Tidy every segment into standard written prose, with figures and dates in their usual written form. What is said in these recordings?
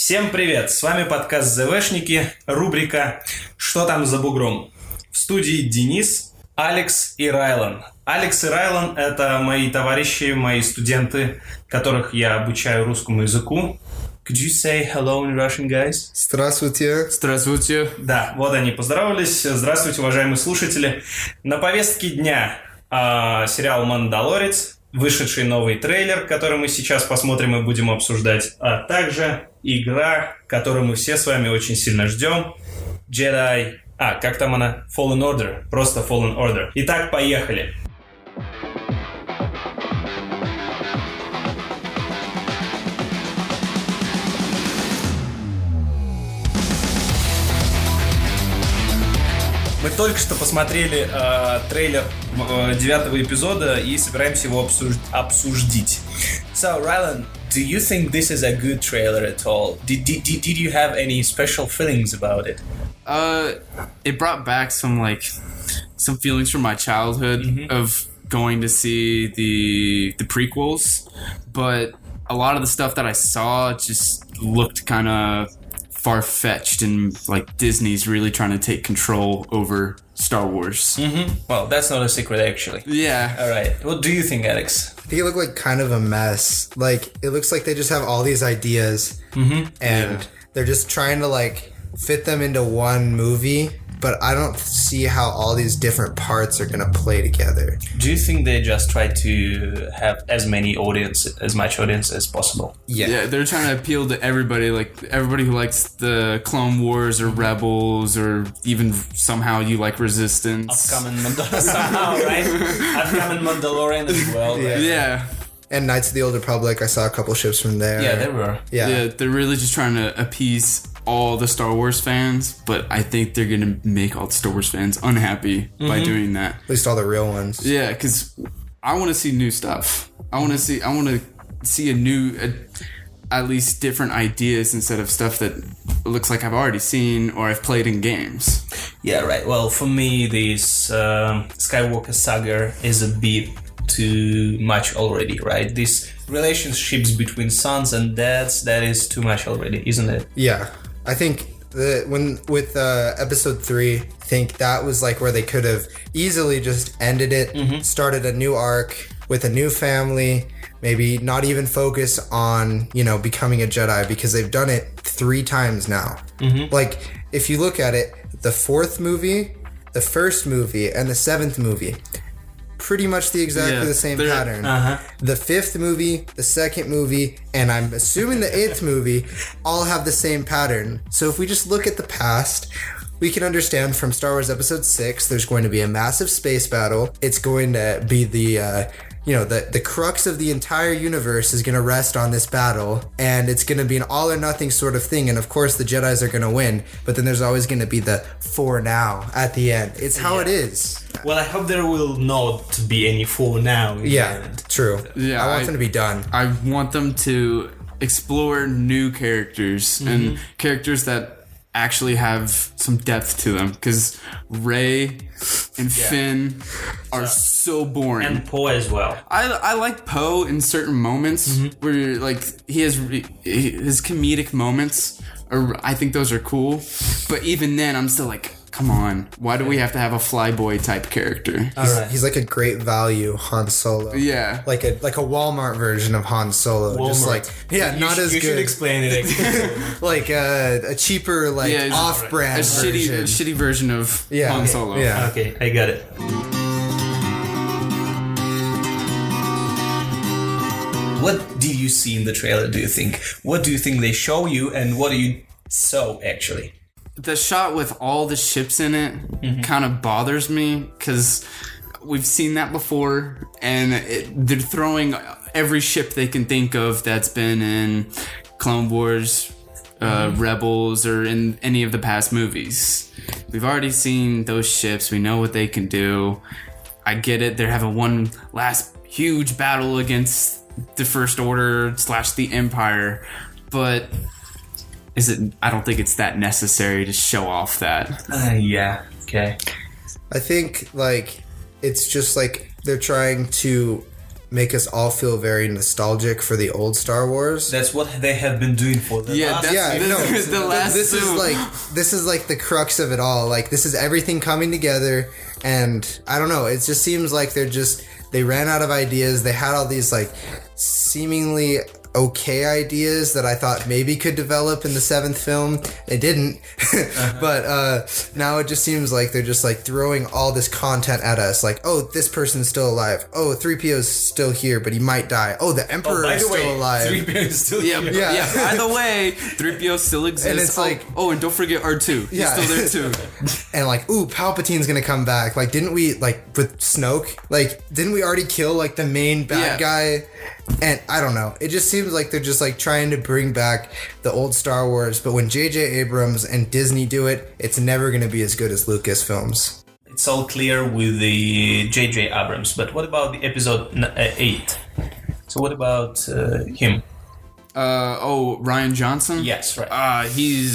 Всем привет! С вами подкаст ЗВшники, рубрика «Что там за бугром?». В студии Денис, Алекс и Райлан. Алекс и Райлан – это мои товарищи, мои студенты, которых я обучаю русскому языку. Could you say hello in Russian, guys? Здравствуйте. Здравствуйте. Да, вот они поздоровались. Здравствуйте, уважаемые слушатели. На повестке дня сериал «Мандалорец», вышедший новый трейлер, который мы сейчас посмотрим и будем обсуждать, а также игра, которую мы все с вами очень сильно ждем, Jedi... как там она? Fallen Order. Просто Fallen Order. Итак, поехали. Мы только что посмотрели трейлер 9-го эпизода и собираемся его обсудить. So, Rylan, do you think this is a good trailer at all? Did you have any special feelings about it? It brought back some feelings from my childhood of going to see the prequels, but a lot of the stuff that I saw just looked kind of far-fetched and like Disney's really trying to take control over Star Wars. Well, that's not a secret, actually. Yeah. All right. What do you think, Alex? I think it looked like kind of a mess. Like, it looks like they just have all these ideas and they're just trying to fit them into one movie, but I don't see how all these different parts are going to play together. Do you think they just try to have as much audience as possible? Yeah, they're trying to appeal to everybody, like everybody who likes the Clone Wars or Rebels or even somehow you like Resistance. Upcoming Mandalorian as well. Right? Yeah. And Knights of the Old Republic, I saw a couple ships from there. Yeah, there were. Yeah, They're really just trying to appease all the Star Wars fans, but I think they're gonna make all the Star Wars fans unhappy by doing that. At least all the real ones. Yeah, because I want to see new stuff. I want to see at least different ideas instead of stuff that looks like I've already seen or I've played in games. Yeah, right. Well, for me, this Skywalker saga is a bit too much already, right? These relationships between sons and dads, that is too much already, isn't it? Yeah. I think with episode 3, I think that was where they could have easily just ended it, started a new arc with a new family, maybe not even focus on, becoming a Jedi, because they've done it 3 times now. If you look at it, the 4th movie, the 1st movie, and the 7th movie, pretty much exactly the same pattern. The 5th movie, the 2nd movie, and I'm assuming the 8th movie all have the same pattern. So if we just look at the past, we can understand from Star Wars Episode 6, there's going to be a massive space battle. It's going to be the crux of the entire universe is going to rest on this battle, and it's going to be an all or nothing sort of thing, and of course the Jedis are going to win, but then there's always going to be the for now at the end. It's how it is. Well, I hope there will not be any for now. True. Yeah, I want them to be done. I want them to explore new characters and characters that actually have some depth to them, because Rey and Finn are so boring. And Poe as well. I like Poe in certain moments where he has his comedic moments, I think those are cool, but even then I'm still come on, why do we have to have a flyboy type character? He's like a great value Han Solo. Yeah. Like a Walmart version of Han Solo. Walmart. Just not as good. You should explain it. Like a cheaper, off-brand version. A shitty version of Han Solo. Yeah. Okay, I got it. What do you see in the trailer, do you think? What do you think they show you, and what do you saw, actually? The shot with all the ships in it kind of bothers me, because we've seen that before, and they're throwing every ship they can think of that's been in Clone Wars, Rebels, or in any of the past movies. We've already seen those ships. We know what they can do. I get it. They're having one last huge battle against the First Order / the Empire, but I don't think it's that necessary to show off that. Yeah. Okay. I think it's just they're trying to make us all feel very nostalgic for the old Star Wars. That's what they have been doing for the last. The last this is like the crux of it all. Like, this is everything coming together, and I don't know, it just seems like they ran out of ideas. They had all these like seemingly okay ideas that I thought maybe could develop in the 7th film. They didn't. But now it just seems like they're just like throwing all this content at us. Like, oh, this person's still alive. Oh, 3PO's still here, but he might die. Oh, the Emperor is still alive. 3PO is still here. Yeah. By the way, 3PO still exists. And it's like, and don't forget R2. He's still there too. And like, ooh, Palpatine's gonna come back. Like, didn't we, like, with Snoke, like, didn't we already kill like the main bad guy? And I don't know. It just seems like they're just like trying to bring back the old Star Wars, but when J.J. Abrams and Disney do it, it's never going to be as good as Lucasfilms. It's all clear with the J.J. Abrams, but what about the episode 8? So what about him? Rian Johnson? Yes, right.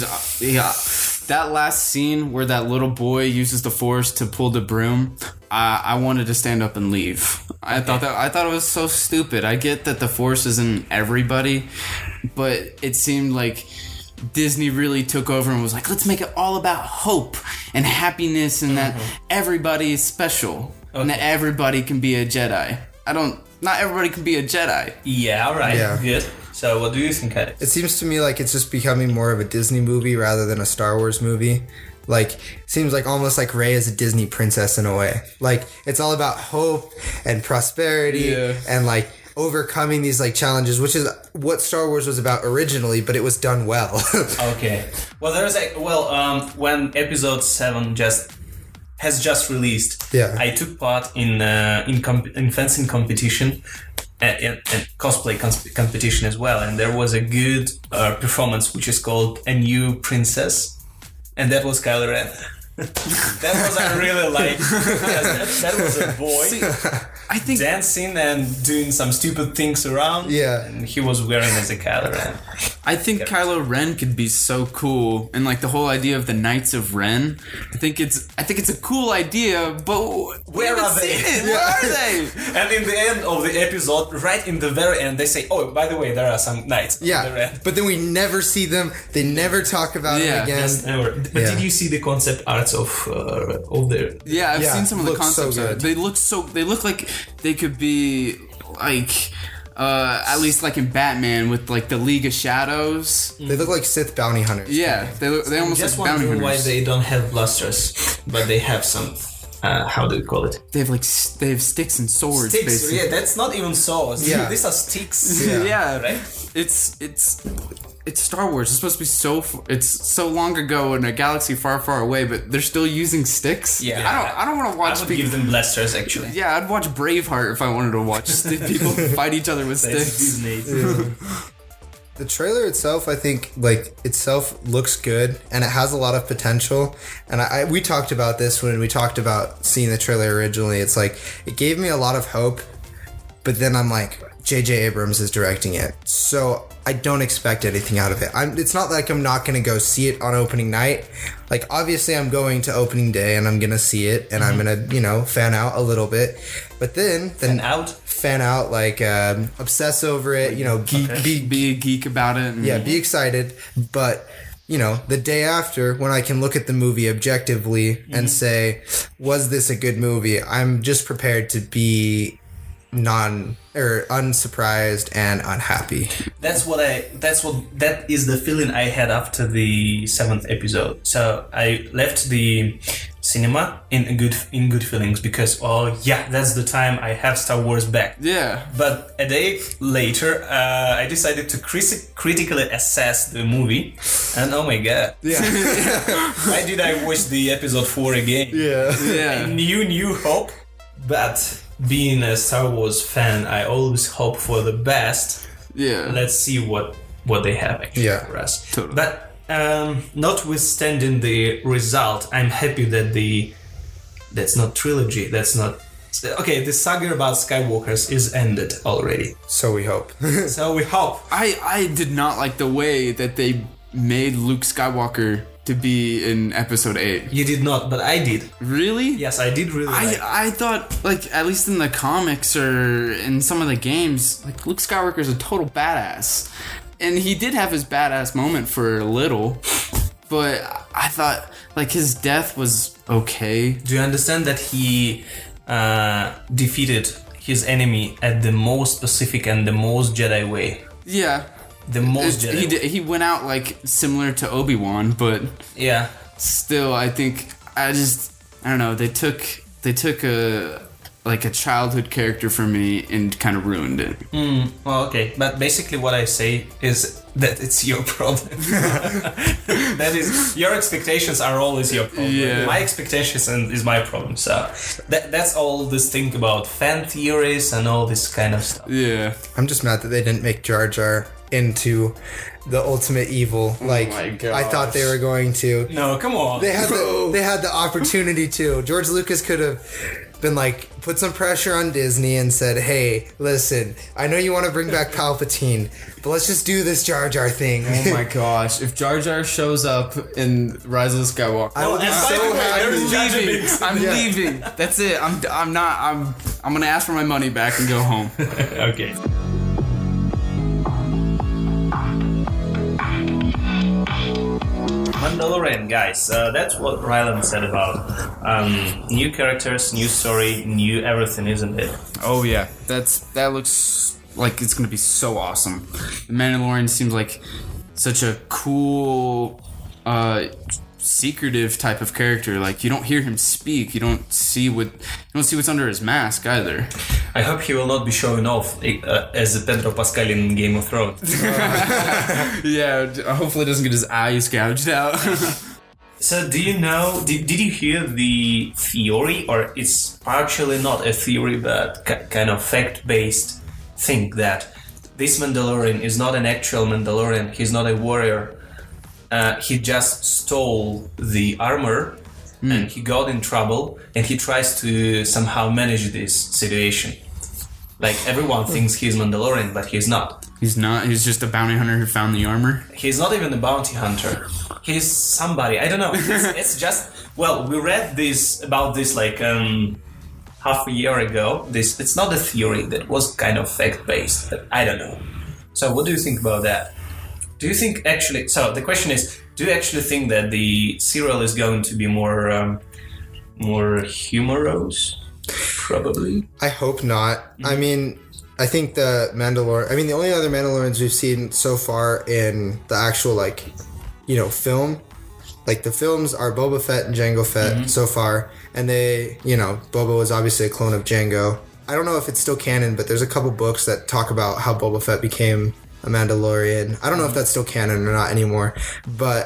That last scene where that little boy uses the Force to pull the broom, I wanted to stand up and leave. I thought it was so stupid. I get that the Force isn't everybody, but it seemed like Disney really took over and was like, let's make it all about hope and happiness and that everybody is special and that everybody can be a Jedi. Not everybody can be a Jedi. Yeah, all right. Yeah. Good. So what do you think, Alex? It seems to me like it's just becoming more of a Disney movie rather than a Star Wars movie. Like, seems like almost like Rey is a Disney princess in a way. Like, it's all about hope and prosperity and like overcoming these like challenges, which is what Star Wars was about originally, but it was done well. Okay. Well, when episode 7 has just released, I took part in fencing competition and cosplay competition as well, and there was a good performance which is called A New Princess, and that was Kylo Ren. That was I really like. That was a boy I think dancing and doing some stupid things around. Yeah, and he was wearing as a Kylo Ren. I think Kylo Ren could be so cool, and like the whole idea of the Knights of Ren. I think it's a cool idea, but where are they? Where are they? And in the end of the episode, right in the very end, they say, "Oh, by the way, there are some knights." Yeah, but then we never see them. They never talk about it again. Yes, never. But did you see the concept arts of the? Yeah, I've seen some of the concepts. So They look like they could be like. At least like in Batman with like the League of Shadows. They look like Sith bounty hunters. Yeah, they almost just like bounty hunters. Why they don't have blasters, but they have some. How do you call it? They have sticks and swords. Sticks, basically. yeah. That's not even swords. Yeah, these are sticks. Yeah, right. It's Star Wars. It's supposed to be it's so long ago in a galaxy far, far away, but they're still using sticks. Yeah, I don't want to watch. I would give them blasters actually. Yeah, I'd watch Braveheart if I wanted to watch people fight each other with sticks. The trailer itself, I think, like, itself looks good, and it has a lot of potential. And we talked about this when we talked about seeing the trailer originally. It's like, it gave me a lot of hope, but then I'm like, J.J. Abrams is directing it, so I don't expect anything out of it. It's not like I'm not going to go see it on opening night. Like, obviously, I'm going to opening day, and I'm going to see it, and I'm going to, fan out a little bit. But then fan out, like, obsess over it, be a geek about it. Be excited. But, the day after, when I can look at the movie objectively and say, was this a good movie? I'm just prepared to be unsurprised and unhappy. That is the feeling I had after the 7th episode. So I left the cinema in good feelings because that's the time I have Star Wars back. Yeah. But a day later, I decided to critically assess the movie, and oh my god, why did I watch the episode 4 again? Yeah. New hope, but. Being a Star Wars fan, I always hope for the best. Yeah. Let's see what they have actually for us. Totally. But notwithstanding the result, I'm happy that that's not trilogy. That's not the saga about Skywalkers is ended already. So we hope. So we hope. I did not like the way that they made Luke Skywalker to be in episode 8. You did not, but I did. Really? Yes, I did really like it. I thought, like, at least in the comics or in some of the games, like, Luke Skywalker's a total badass. And he did have his badass moment for a little, but I thought, like, his death was okay. Do you understand that he defeated his enemy at the most specific and the most Jedi way? Yeah. The most Jedi way. He went out, like, similar to Obi-Wan, but Yeah. still, I think, I don't know, they took a childhood character from me and kind of ruined it. Well, okay. But basically what I say is that it's your problem. That is, your expectations are always your problem. Yeah. My expectations is my problem. So that's all this thing about fan theories and all this kind of stuff. Yeah. I'm just mad that they didn't make Jar Jar into the ultimate evil. Like, my I thought they were going to. No, come on. They had the opportunity to. George Lucas could have been like, put some pressure on Disney and said, hey, listen, I know you want to bring back Palpatine, but let's just do this Jar Jar thing. Oh my gosh! If Jar Jar shows up in Rise of the Skywalker, I would be and by so the way, happy. there's Jar Jar Binks. I'm leaving. That's it. I'm gonna ask for my money back and go home. Okay. Mandalorian, guys, that's what Ryland said about new characters, new story, new everything, isn't it? Oh yeah, that looks like it's gonna be so awesome. The Mandalorian seems like such a cool, secretive type of character. Like, you don't hear him speak. You don't see what's under his mask either. I hope he will not be showing off as Pedro Pascal in Game of Thrones. Yeah, hopefully it doesn't get his eyes gouged out. So do you know, did you hear the theory, or it's actually not a theory but kind of fact-based thing, that this Mandalorian is not an actual Mandalorian, he's not a warrior, he just stole the armor and he got in trouble and he tries to somehow manage this situation. Like, everyone thinks he's Mandalorian, but he's not. He's not. He's just a bounty hunter who found the armor. He's not even a bounty hunter. He's somebody. I don't know. It's just, well, we read about this like half a year ago. It's not a theory, that was kind of fact based, but I don't know. So what do you think about that? Do you think actually? So the question is, do you actually think that the serial is going to be more humorous? Probably. I hope not. I mean, I think the only other Mandalorians we've seen so far in the actual, like, film, like, the films are Boba Fett and Jango Fett so far, and they, Boba was obviously a clone of Jango. I don't know if it's still canon, but there's a couple books that talk about how Boba Fett became a Mandalorian. I don't know if that's still canon or not anymore, but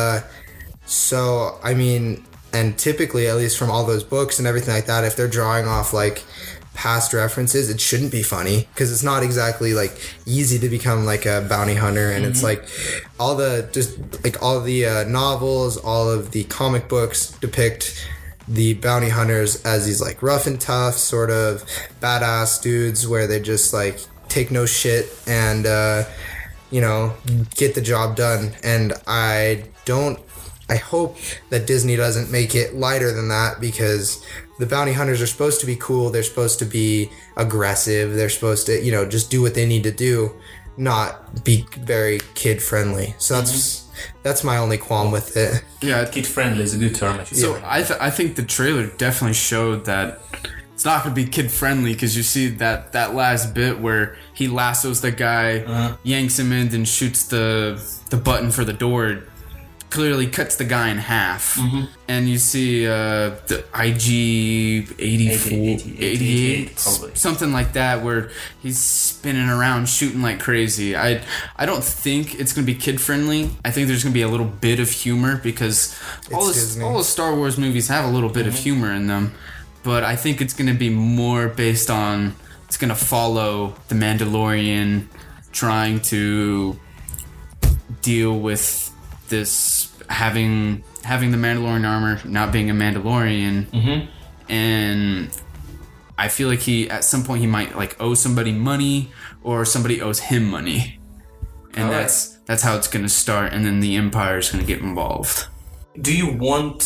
so I mean. And typically, at least from all those books and everything like that, if they're drawing off, like, past references, it shouldn't be funny, because it's not exactly, like, easy to become, like, a bounty hunter. And it's like all the novels, all of the comic books depict the bounty hunters as these, like, rough and tough sort of badass dudes where they just, like, take no shit and get the job done. And I hope that Disney doesn't make it lighter than that, because the bounty hunters are supposed to be cool. They're supposed to be aggressive. They're supposed to, just do what they need to do, not be very kid friendly. So that's my only qualm with it. Yeah, kid friendly is a good term. So I think the trailer definitely showed that it's not going to be kid friendly, because you see that last bit where he lassos the guy, yanks him in, and shoots the button for the door. Clearly cuts the guy in half, and you see the IG 88, something like that, where he's spinning around shooting like crazy. I don't think it's gonna be kid friendly. I think there's gonna be a little bit of humor, because all the Star Wars movies have a little bit of humor in them, but I think it's gonna be more based on, it's gonna follow the Mandalorian trying to deal with this having the Mandalorian armor, not being a Mandalorian, and I feel like at some point he might, like, owe somebody money, or somebody owes him money, and that's how it's gonna start, and then the Empire is gonna get involved. do you want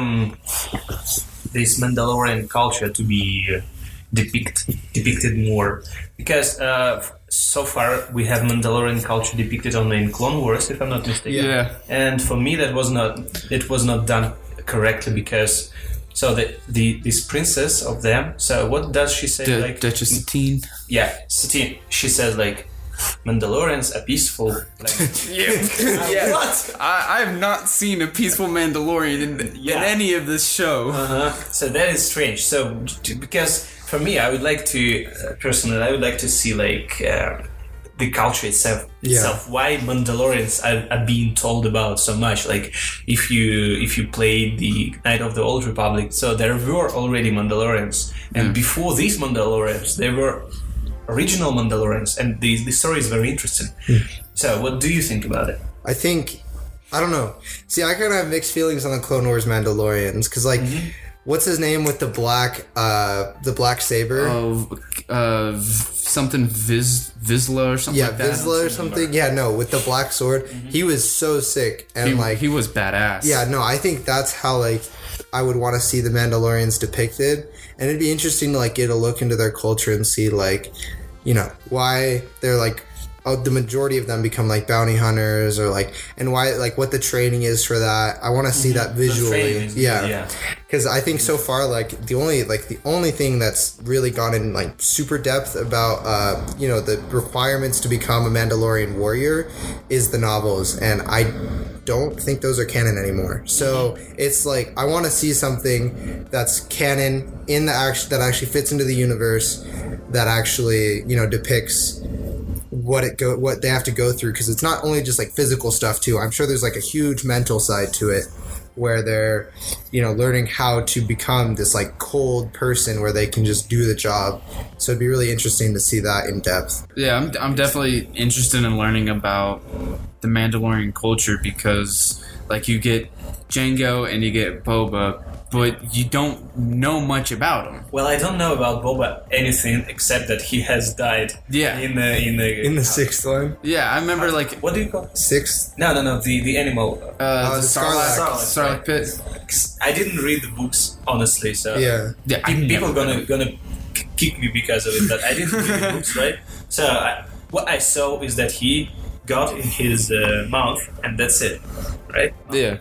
this Mandalorian culture to be depicted more? Because so far we have Mandalorian culture depicted only in Clone Wars, if I'm not mistaken. Yeah. And for me, it was not done correctly because this princess of them. So what does she say? Duchess Satine. Yeah, Satine. She says like, Mandalorians are peaceful. Like, Yeah. What? I have not seen a peaceful Mandalorian in any of this show. So that is strange. So because for me, I would like to personally, I would like to see like the culture itself. Why Mandalorians are being told about so much. Like if you play the Knight of the Old Republic, so there were already Mandalorians, and before these Mandalorians, there were original Mandalorians, and the story is very interesting. So what do you think about it? I don't know. See, I kind of have mixed feelings on the Clone Wars Mandalorians, because like, what's his name with the black saber? Something Vizsla or something like that. Yeah, Vizsla or something. Yeah, no, with the black sword. He was so sick, and he was badass. Yeah, no, I think that's how like I would want to see the Mandalorians depicted, and it'd be interesting to like get a look into their culture and see like, you know, why they're like, the majority of them become like bounty hunters, or like, and why, like, what the training is for that. I want to see that visually. Yeah, because I think so far like the only thing that's really gone in like super depth about you know, the requirements to become a Mandalorian warrior is the novels, and I don't think those are canon anymore. So it's like, I want to see something that's canon in the that actually fits into the universe, that actually, you know, depicts what they have to go through, because it's not only just like physical stuff too. I'm sure there's like a huge mental side to it, where they're, you know, learning how to become this like cold person where they can just do the job. So it'd be really interesting to see that in depth. Yeah, I'm definitely interested in learning about the Mandalorian culture, because like you get Jango and you get Boba, but you don't know much about him. Well, I don't know about Boba anything except that he has died. Yeah. In the sixth one. Yeah, I remember like, what do you call it? Sixth? No, the animal. the Sarlacc. Sarlacc pit. I didn't read the books, honestly. So Yeah, people gonna kick me because of it, but I didn't read the books, right? So what I saw is that he got in his mouth, and that's it, right? Yeah.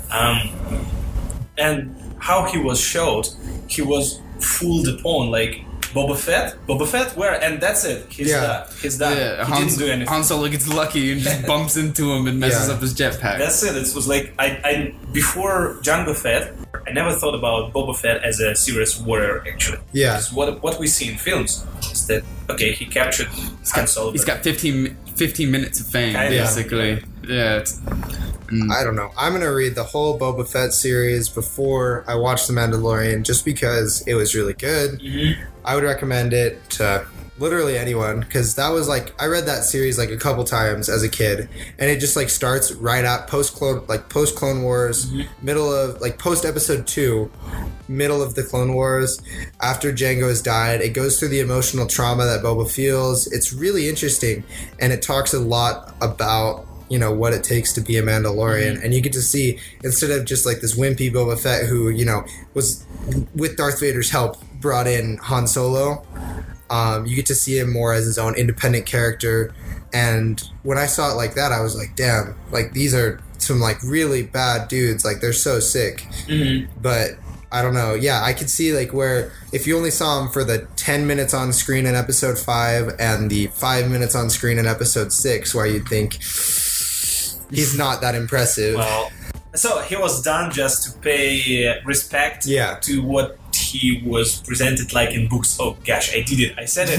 And how he was showed, he was fooled upon, like Boba Fett, where? And that's it. He's done. Yeah, He didn't do anything. Han Solo gets lucky and just bumps into him and messes up his jetpack. That's it. It was like, I before Jango Fett, I never thought about Boba Fett as a serious warrior, actually. Yeah. Because what we see in films is that, okay, he captured Han Solo. He's got 15 minutes of fame, basically. Yeah. I don't know. I'm going to read the whole Boba Fett series before I watch The Mandalorian, just because it was really good. I would recommend it to literally anyone, because that was like, I read that series like a couple times as a kid, and it just like starts right at post Clone Wars, middle of like post episode 2, middle of the Clone Wars, after Jango has died. It goes through the emotional trauma that Boba feels. It's really interesting, and it talks a lot about, you know, what it takes to be a Mandalorian. And you get to see, instead of just like this wimpy Boba Fett who, you know, was with Darth Vader's help brought in Han Solo, you get to see him more as his own independent character. And when I saw it like that, I was like, damn, like these are some like really bad dudes, like they're so sick. But I don't know. Yeah, I could see like where if you only saw him for the 10 minutes on screen in episode 5 and the 5 minutes on screen in episode 6, where you'd think he's not that impressive. Well, so he was done just to pay respect to what he was presented like in books. Oh gosh, I did it. I said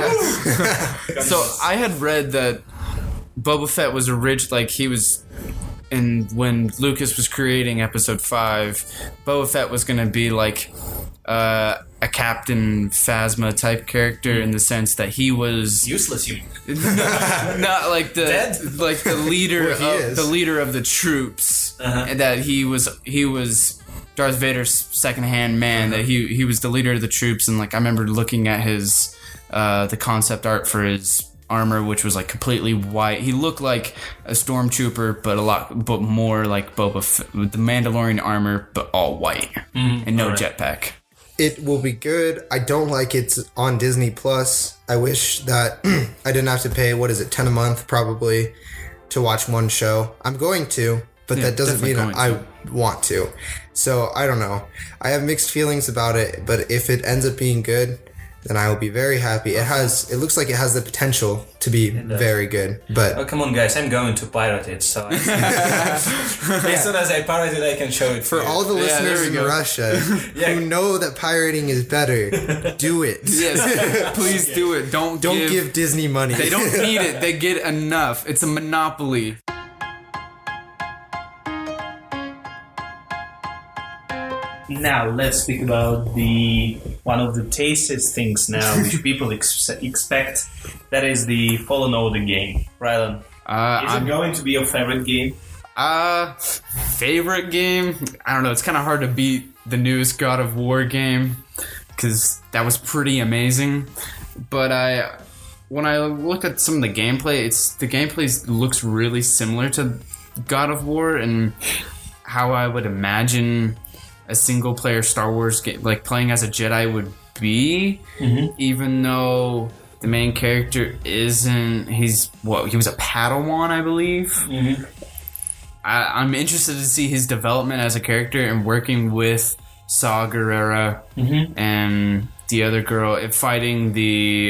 it. So I had read that Boba Fett was like he was, and when Lucas was creating episode 5, Boba Fett was going to be like a Captain Phasma type character, in the sense that he was useless human. Not like the leader of the troops, and that he was Darth Vader's second-hand man, that he was the leader of the troops. And like I remember looking at his the concept art for his armor, which was like completely white. He looked like a stormtrooper, but more like with the Mandalorian armor, but all white and no jetpack. It will be good. I don't like it's on Disney Plus. I wish that I didn't have to pay, $10 a month probably, to watch one show. I'm going to, but that doesn't mean I want to. So I don't know. I have mixed feelings about it, but if it ends up being good, then I will be very happy. It looks like it has the potential to be very good. But oh, come on, guys! I'm going to pirate it. So as soon as I pirate it, I can show it for all the listeners in Russia who know that pirating is better, do it. Yes, please do it. Don't give Disney money. They don't need it. They get enough. It's a monopoly. Now let's speak about one of the tastiest things now which people expect. That is the Fallen Order game. Rylan, is it going to be your favorite game? Favorite game? I don't know. It's kind of hard to beat the newest God of War game because that was pretty amazing. But when I look at some of the gameplay, the gameplay looks really similar to God of War and how I would imagine a single-player Star Wars game, like playing as a Jedi, would be, even though the main character isn't. He was a Padawan, I believe. I'm interested to see his development as a character and working with Saw Gerrera and the other girl, fighting the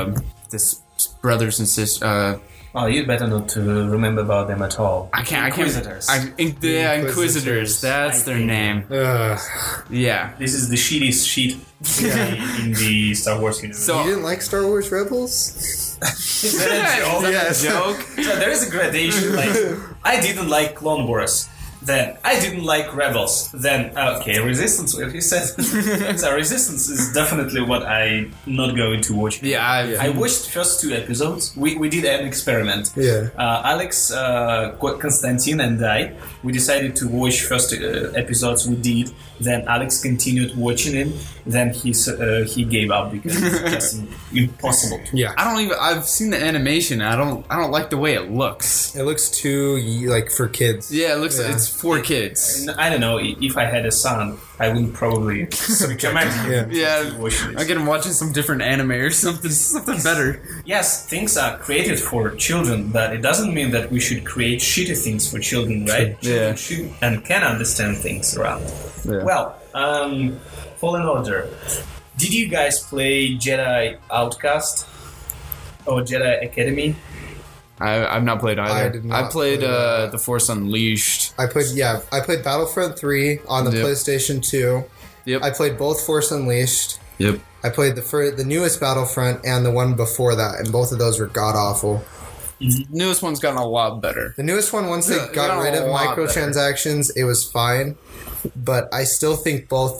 brothers and sisters. Oh, you'd better not to remember about them at all. Inquisitors. Inquisitors. That's their name. Yeah. This is the shittiest shit in the Star Wars universe. So, you didn't like Star Wars Rebels? Is that a joke? So there is a gradation. Like, I didn't like Clone Wars. Then I didn't like Rebels. Then Resistance. What you said. So Resistance is definitely what I'm not going to watch. I watched first 2 episodes. We did an experiment. Yeah. Alex, Konstantin, and I. We decided to watch first episodes. We did. Then Alex continued watching it. Then he gave up because it's just impossible. Yeah. I've seen the animation. I don't like the way it looks. It looks too like for kids. Yeah, it looks. It's for kids. I don't know. If I had a son, I would probably subject him. Yeah. I get him watching some different anime or something better. Yes, things are created for children, but it doesn't mean that we should create shitty things for children, right? Yeah. Children should and can understand things around. Yeah. Well, Fallen Order. Did you guys play Jedi Outcast or Jedi Academy? I've not played either. I did not I played play The Force Unleashed. I played Battlefront 3 on the PlayStation 2. Yep. I played both Force Unleashed. Yep. I played the newest Battlefront and the one before that, and both of those were god-awful. The newest one's gotten a lot better. The newest one, once they got rid of microtransactions, it was fine. But I still think all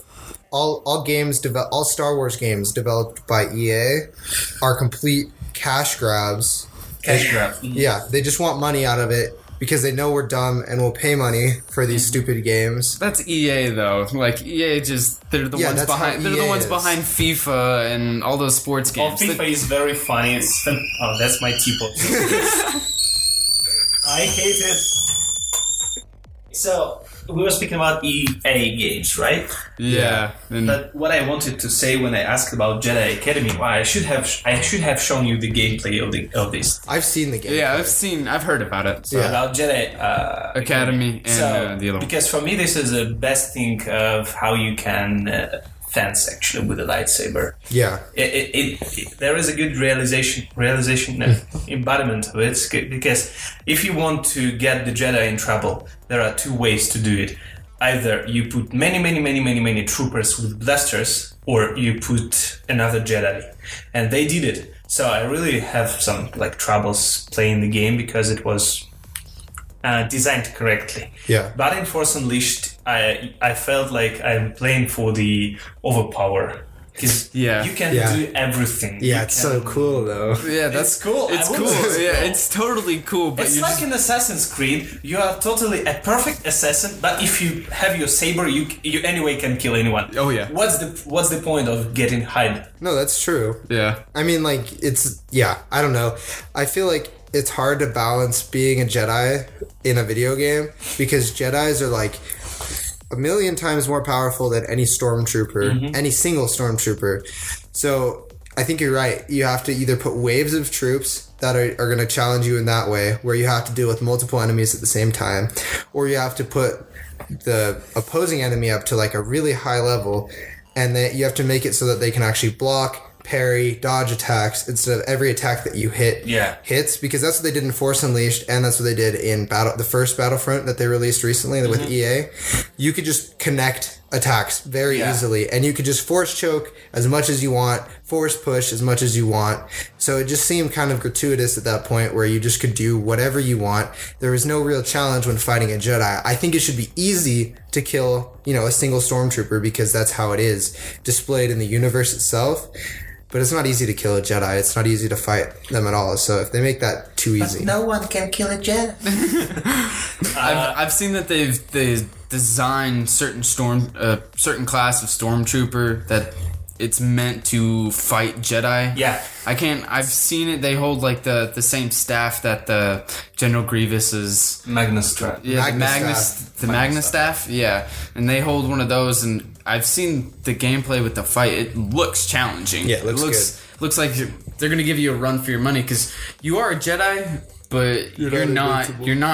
Star Wars games developed by EA are complete cash grabs. Yeah, they just want money out of it because they know we're dumb and will pay money for these stupid games. That's EA though. Like EA they're the ones behind. They're the ones behind FIFA and all those sports games. Oh, FIFA is very funny. That's my teapot. I hate it. So we were speaking about EA games, right? Yeah. But what I wanted to say when I asked about Jedi Academy, I should have shown you the gameplay of this. I've seen the game. Yeah, I've heard about it. So about Jedi Academy and the other one. Because for me, this is the best thing of how you can fence actually with a lightsaber. Yeah. There is a good realization embodiment of it, because if you want to get the Jedi in trouble, there are 2 ways to do it. Either you put many troopers with blasters, or you put another Jedi, and they did it. So I really have some troubles playing the game because it was designed correctly. Yeah. But in Force Unleashed, I felt like I'm playing for the overpower Because Yeah. you can Yeah. do everything. Yeah, You it's can- so cool though. Yeah, It's cool. It's I would cool. say it's Yeah, cool. it's totally cool. But It's you like just, in Assassin's Creed, you are totally a perfect assassin, but if you have your saber, you anyway can kill anyone. Oh, yeah. What's the point of getting hide? No, that's true. yeah. I mean, like, I don't know. I feel like it's hard to balance being a Jedi in a video game because Jedis are like a million times more powerful than any stormtrooper, any single stormtrooper. So I think you're right. You have to either put waves of troops that are going to challenge you in that way, where you have to deal with multiple enemies at the same time, or you have to put the opposing enemy up to like a really high level, and then you have to make it so that they can actually block, parry, dodge attacks instead of every attack that you hit hits, because that's what they did in Force Unleashed, and that's what they did in the first Battlefront that they released recently with EA. You could just connect attacks very easily, and you could just force choke as much as you want, force push as much as you want. So it just seemed kind of gratuitous at that point where you just could do whatever you want. There was no real challenge when fighting a Jedi. I think it should be easy to kill, a single stormtrooper because that's how it is displayed in the universe itself. But it's not easy to kill a Jedi. It's not easy to fight them at all. So if they make that too easy, No one can kill a Jedi. I've seen that they've designed certain certain class of stormtrooper that it's meant to fight Jedi. Yeah. I've seen it. They hold like the same staff that the General Grievous's Magnus Trap. yeah, Magnus the Magnus staff. Yeah, and they hold one of those, and I've seen the gameplay with the fight. It looks challenging. Yeah, it looks looks like they're gonna give you a run for your money because you are a Jedi, but you're not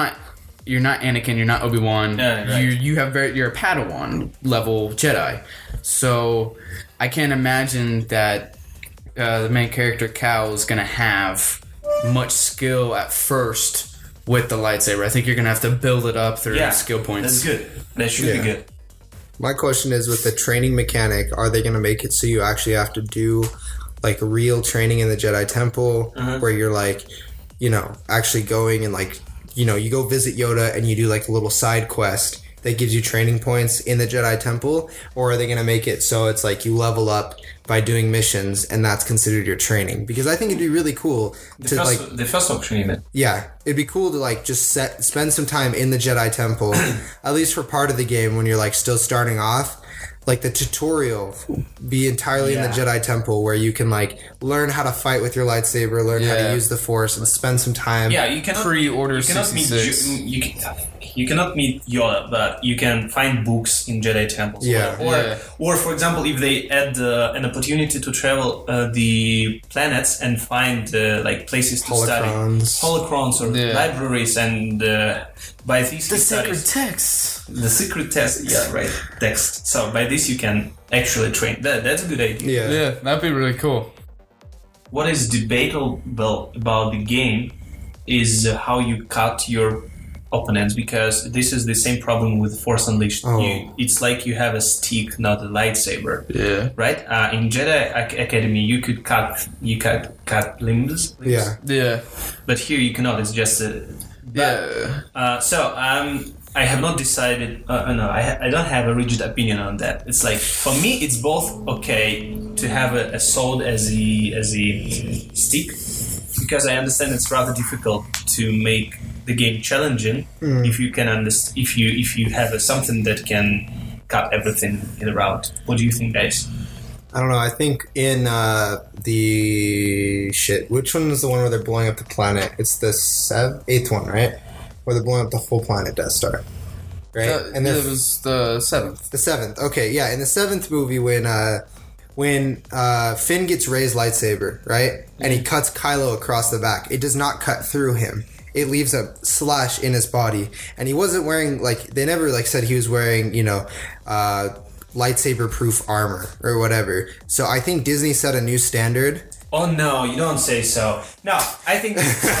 Anakin. You're not Obi-Wan. Yeah, right. You're a Padawan level Jedi. So I can't imagine that the main character Cal is gonna have much skill at first with the lightsaber. I think you're gonna have to build it up through skill points. That's good. That should be good. my question is, with the training mechanic, are they going to make it so you actually have to do like real training in the Jedi Temple where you're like, actually going and like, you go visit Yoda and you do like a little side quest that gives you training points in the Jedi Temple? Or are they going to make it so it's like you level up by doing missions and that's considered your training? Because I think it'd be really cool the first option even. Yeah, it'd be cool to like just spend some time in the Jedi Temple, at least for part of the game when you're like still starting off. Like the tutorial be entirely in the Jedi Temple where you can like learn how to fight with your lightsaber, learn how to use the Force, and spend some time. Yeah, you cannot pre-order. You cannot 66. you cannot meet Yoda, but you can find books in Jedi temples. Or for example, if they add an opportunity to travel the planets and find like places to study, holocrons or libraries, and by these The sacred texts. The secret text, text. So by this you can actually train. That's a good idea. Yeah, that'd be really cool. What is debatable about the game is how you cut your opponents, because this is the same problem with Force Unleashed. It's like you have a stick, not a lightsaber. Yeah. Right? In Jedi Academy, you could cut limbs. Yeah. But here you cannot. It's just a. I have not decided. I don't have a rigid opinion on that. It's like, for me, it's both okay to have a sword as a stick, because I understand it's rather difficult to make the game challenging if you can if you have something that can cut everything in a round. What do you think, guys? I don't know. I think in which one is the one where they're blowing up the planet? It's the 8th one, right? Where they're blowing up the whole planet, Death Star. Right? And then it was the 7th. The 7th. Okay, yeah. In the 7th movie, when Finn gets Rey's lightsaber, right? And he cuts Kylo across the back, it does not cut through him. It leaves a slash in his body. And he wasn't wearing, they never, said he was wearing, lightsaber-proof armor or whatever. So I think Disney set a new standard Oh no, you don't say so. No, I think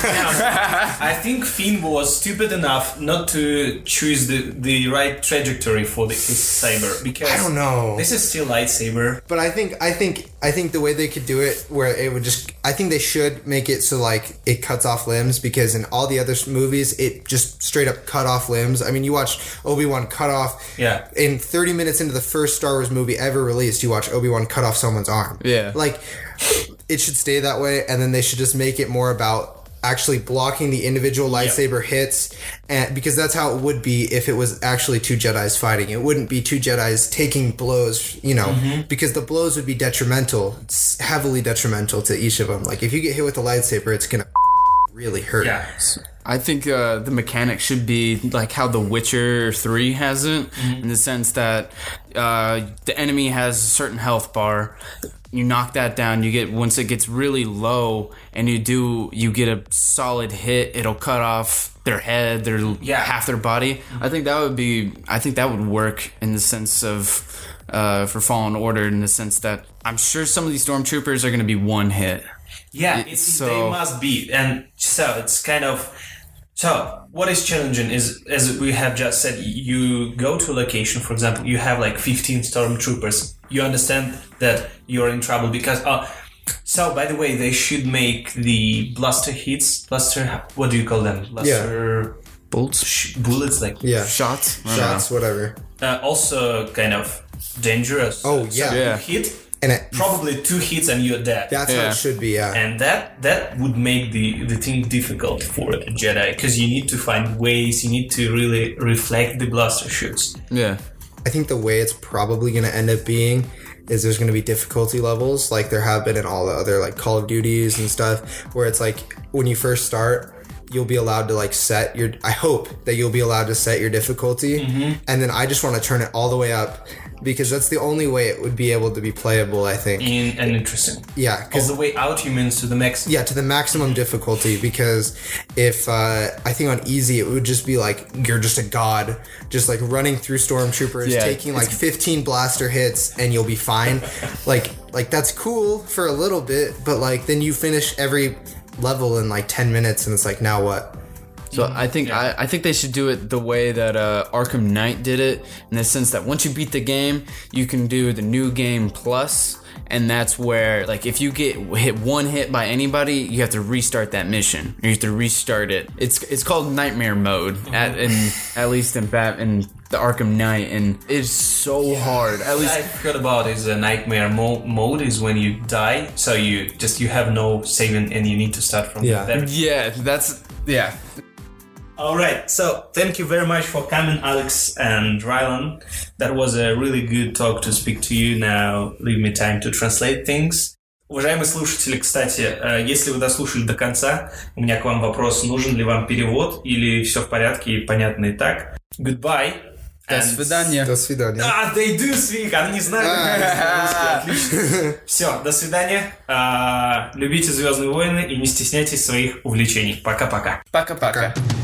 I think Finn was stupid enough not to choose the right trajectory for his saber because I don't know. This is still lightsaber. But I think the way they could do it, where it would just, I think they should make it so like it cuts off limbs, because in all the other movies it just straight up cut off limbs. I mean, you watch Obi-Wan cut off. Yeah. In 30 minutes into the first Star Wars movie ever released, you watch Obi-Wan cut off someone's arm. Yeah. Like, it should stay that way, and then they should just make it more about actually blocking the individual lightsaber hits, and because that's how it would be if it was actually two Jedis fighting. It wouldn't be two Jedis taking blows, you know, because the blows would be detrimental, heavily detrimental to each of them. Like, if you get hit with a lightsaber, it's gonna really hurt. Yeah. I think the mechanic should be like how The Witcher 3 has it, in the sense that the enemy has a certain health bar. You knock that down, you get, once it gets really low and you get a solid hit, it'll cut off their head, half their body. I think that would work in the sense of for Fallen Order, in the sense that I'm sure some of these stormtroopers are going to be one hit. Yeah, they must be. And so it's kind of... So, what is challenging is, as we have just said, you go to a location, for example, you have like 15 stormtroopers. You understand that you're in trouble because... so, by the way, they should make the blaster hits. What do you call them? Blaster... Bolts? Bullets, like... Yeah. Shots, whatever. Also kind of dangerous. Oh, yeah. So Yeah. you hit... And Probably 2 hits and you're dead. that's how it should be, yeah. And that would make the thing difficult for a Jedi, because you need to find ways, you need to really reflect the blaster shoots. Yeah. I think the way it's probably going to end up being is there's going to be difficulty levels like there have been in all the other like Call of Duties and stuff, where it's like when you first start, you'll be allowed to like set your... I hope that you'll be allowed to set your difficulty, and then I just want to turn it all the way up, because that's the only way it would be able to be playable, I think. And interesting. Yeah. All the way out, you mean to the max? Yeah, to the maximum difficulty, because if I think on easy it would just be like you're just a god, just like running through stormtroopers, taking like 15 blaster hits, and you'll be fine. like that's cool for a little bit, but like then you finish every level in like 10 minutes, and it's like, now what? So I think I think they should do it the way that Arkham Knight did it, in the sense that once you beat the game, you can do the new game plus, and that's where, like, if you get hit one hit by anybody, you have to restart that mission, or you have to restart it. It's called Nightmare Mode at least in the Arkham Knight, and it's so hard. At least I've heard about is a Nightmare mode is when you die, so you have no saving and you need to start from there. Yeah. Alright, so thank you very much for coming, Alex and Rylan. That was a really good talk to speak to you. Now leave me time to translate things. Уважаемые слушатели, кстати, если вы дослушали до конца, у меня к вам вопрос: нужен ли вам перевод или все в порядке и понятно и так? Goodbye. До свидания. До свидания. They do speak, они не знают, как русский, отлично. Все, до свидания. Любите «Звездные войны» и не стесняйтесь своих увлечений. Пока-пока. Пока-пока.